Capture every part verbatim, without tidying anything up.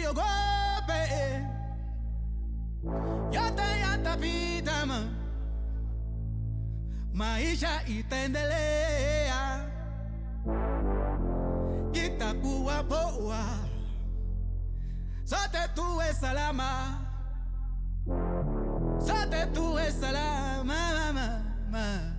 ogope. Yata yata pitama. Maisha itaendelea. Kitakuwa poa. Sote tuwe salama. Sote tuwe salama, mama, mama.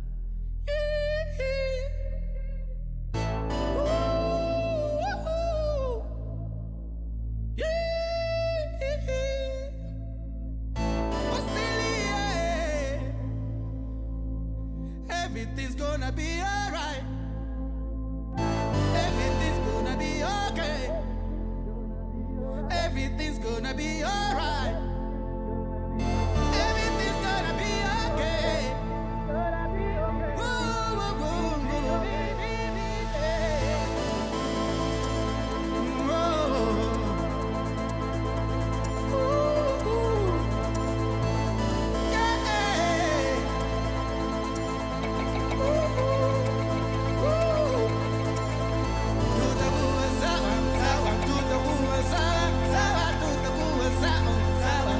Everything's gonna be alright. Everything's gonna be okay. Everything's gonna be alright. Everything's gonna be okay. Woo, woo, woo, woo. Woo. Woo. Yeah. Tuta kuwa sawa, sawa, tuta kuwa sawa, sawa, tuta kuwa sawa, sawa.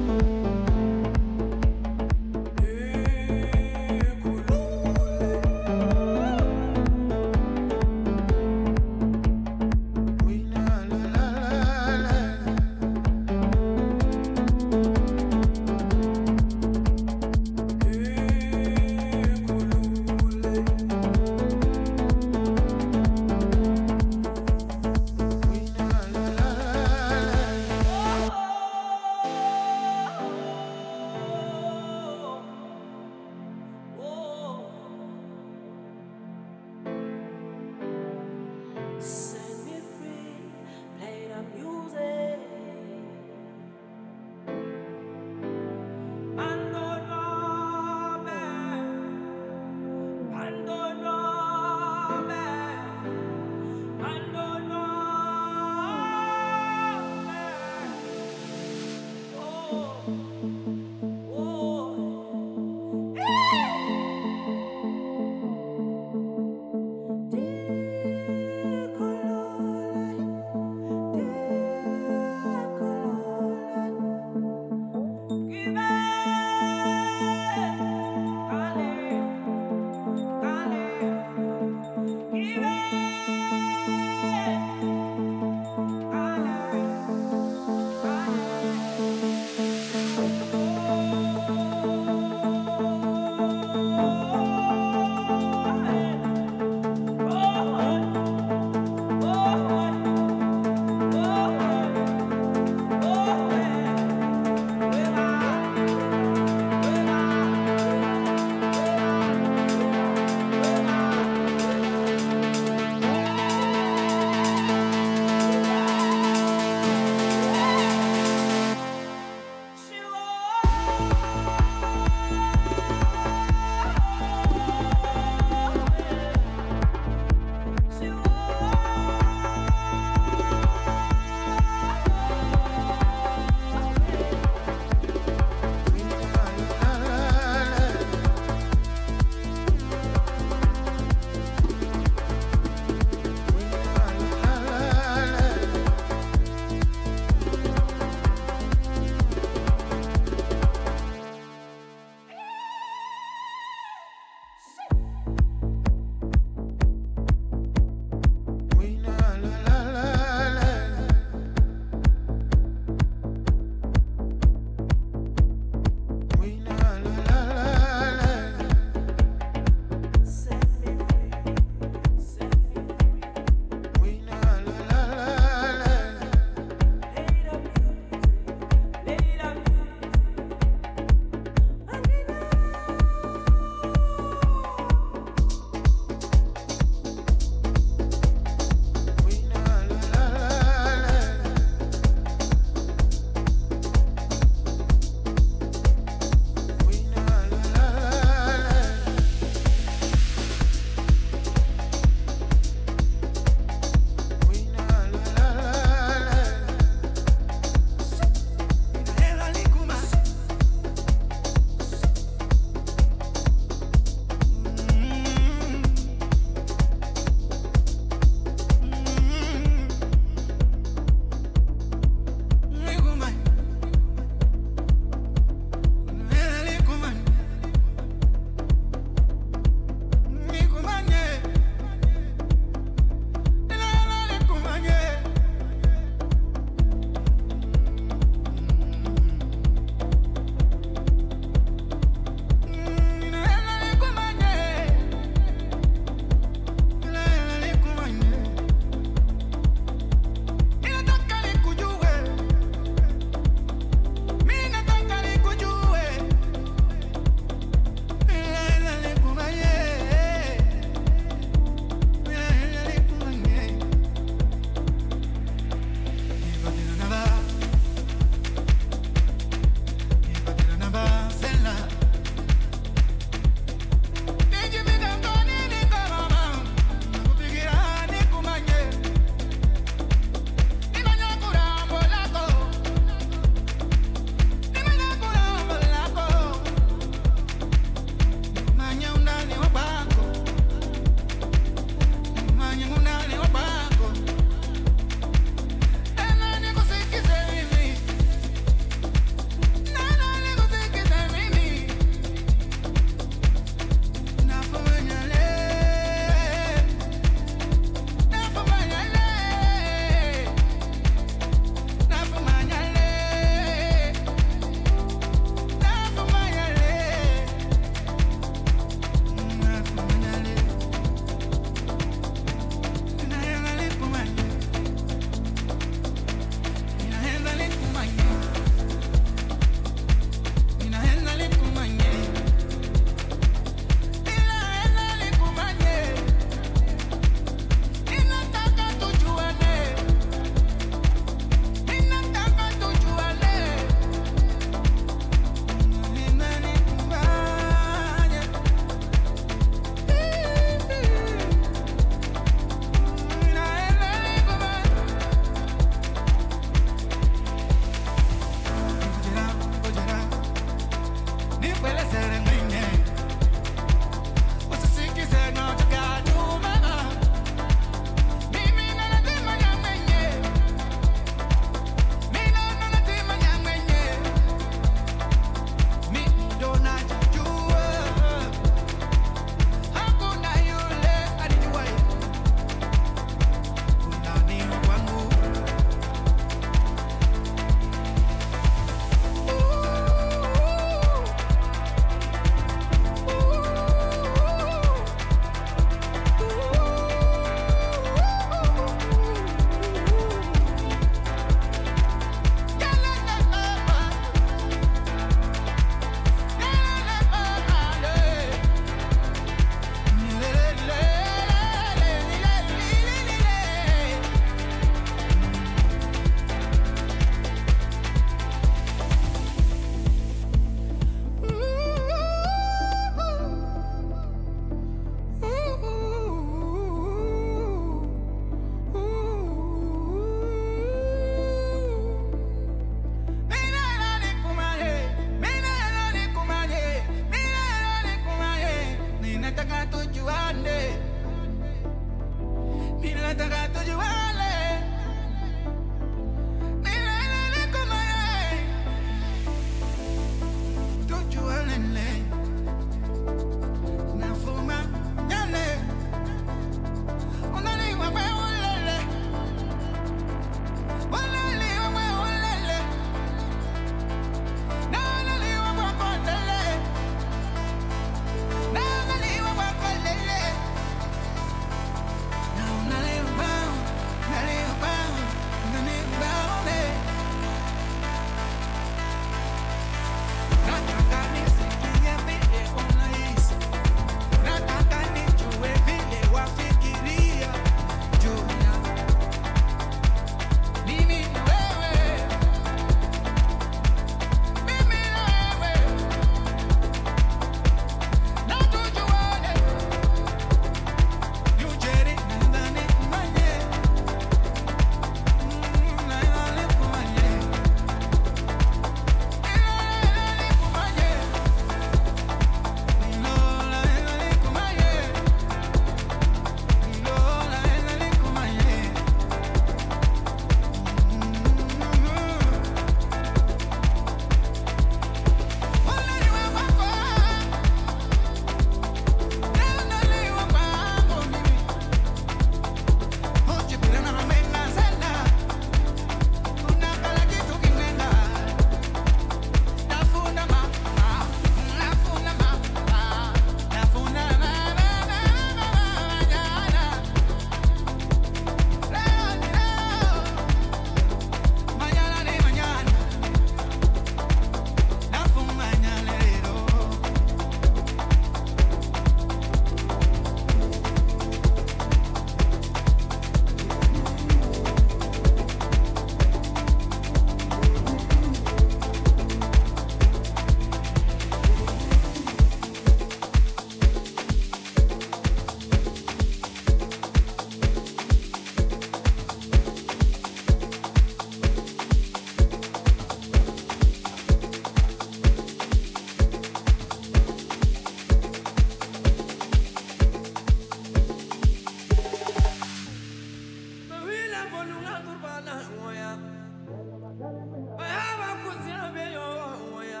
Aba kuzina be yo ya.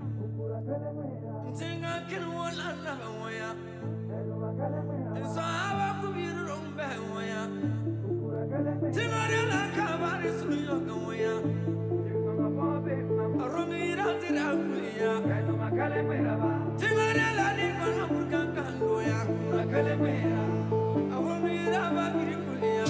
Tinga kin wala na ya. So aba kubiru rombe ya. Tinga la kabari sulu yo ya. Romira tira kuya. Tinga la ni kono burka ya. Romira ba biri kuya.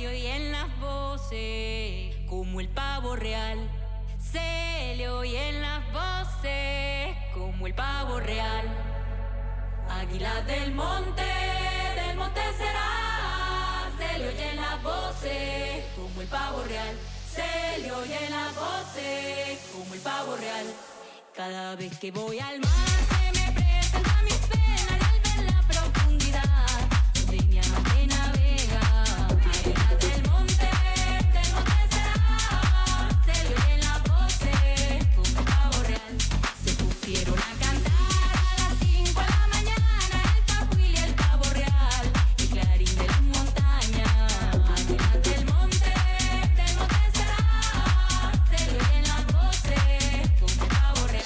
le oyen las voces como el pavo real. Se le oyen las voces como el pavo real. Águila del monte, del monte será. Se le oyen las voces como el pavo real. Se le oyen las voces como el pavo real. Cada vez que voy al mar se me presenta mis penas y al ver la profundidad donde mi amante navega. Águila del monte, del monte será. Se le oyen las voces como el pavo real. Se pusieron a cantar a las cinco de la mañana el cajuil y el pavo real, el clarín de las montañas. Águila del monte, del monte será. Se le oyen las voces como el pavo real.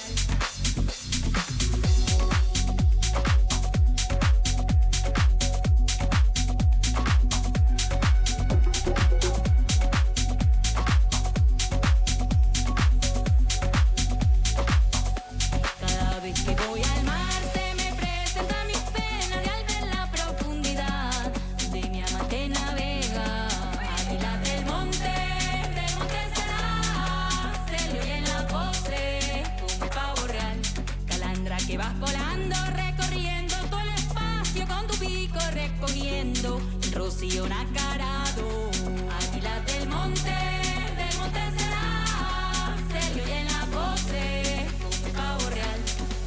Cada vez que voy al mar se me presentan mis penas y al ver la profundidad donde mi amante navega. Águila del monte, del monte será. Se le oyen las voces como el pavo real. Calandra que vas volando, recorriendo todo el espacio con tu pico recogiendo el rocío nacarado. Águila del monte, del monte será. Se le oyen las voces como el pavo real.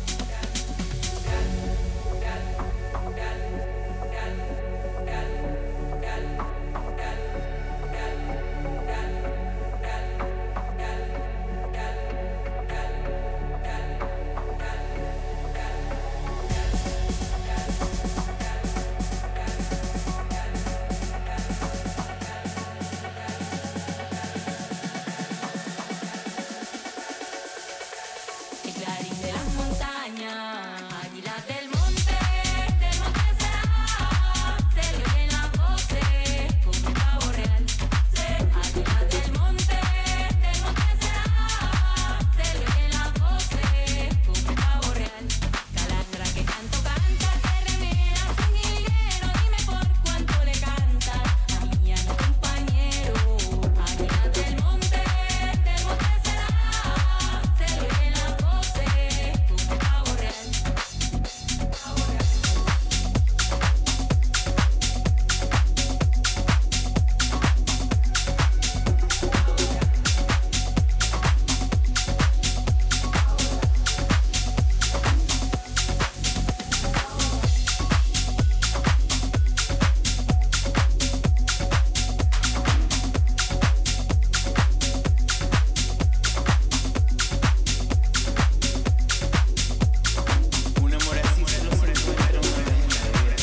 El clarín de las montañas. Águila del monte, del monte será. Se le oyen las voces como el pavo real. Águila del monte, del monte será. Se le oyen las voces como el pavo real. Calandra que tanto canta, te remeras un higuero. Dime por cuánto le cantas a mi mi compañero. Águila del monte, del monte será. Se le oyen las voces como el pavo real. Pavo real. Un amor así solo se encuentra una vez en la vida.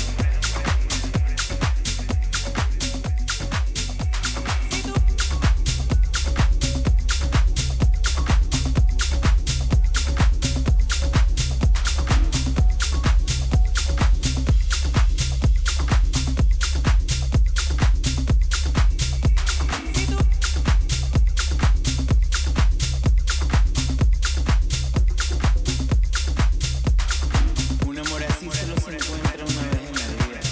Un amor así solo se encuentra una vez en la vida.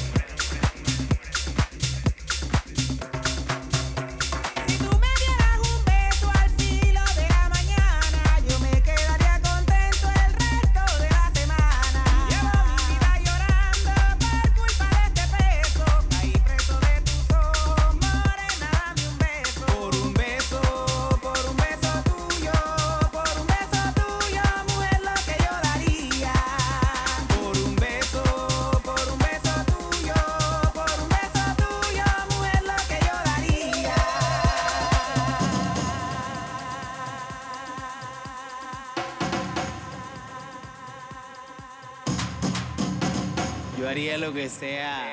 Si tú me dieras un beso al filo de la mañana, yo me quedaría contento el resto de la semana. Llevo mi vida llorando por culpa de este peso. Ahí preso de tus ojos, morena, dame un beso. Por un beso, por un beso tuyo, por un beso tuyo, mujer, lo que yo daría. Por un beso, por un beso tuyo, por un beso tuyo, mujer, lo que yo daría. Yo haría lo que sea